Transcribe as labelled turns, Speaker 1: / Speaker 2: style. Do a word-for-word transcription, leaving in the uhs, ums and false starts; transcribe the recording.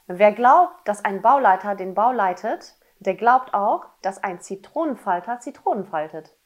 Speaker 1: Wer glaubt, dass ein Bauleiter den Bau leitet, der glaubt auch, dass ein Zitronenfalter Zitronen faltet.